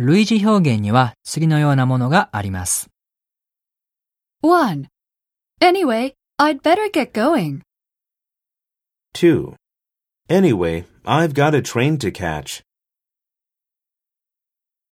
類似表現には次のようなものがあります。 1. Anyway, I'd better get going. 2. Anyway, I've got a train to catch.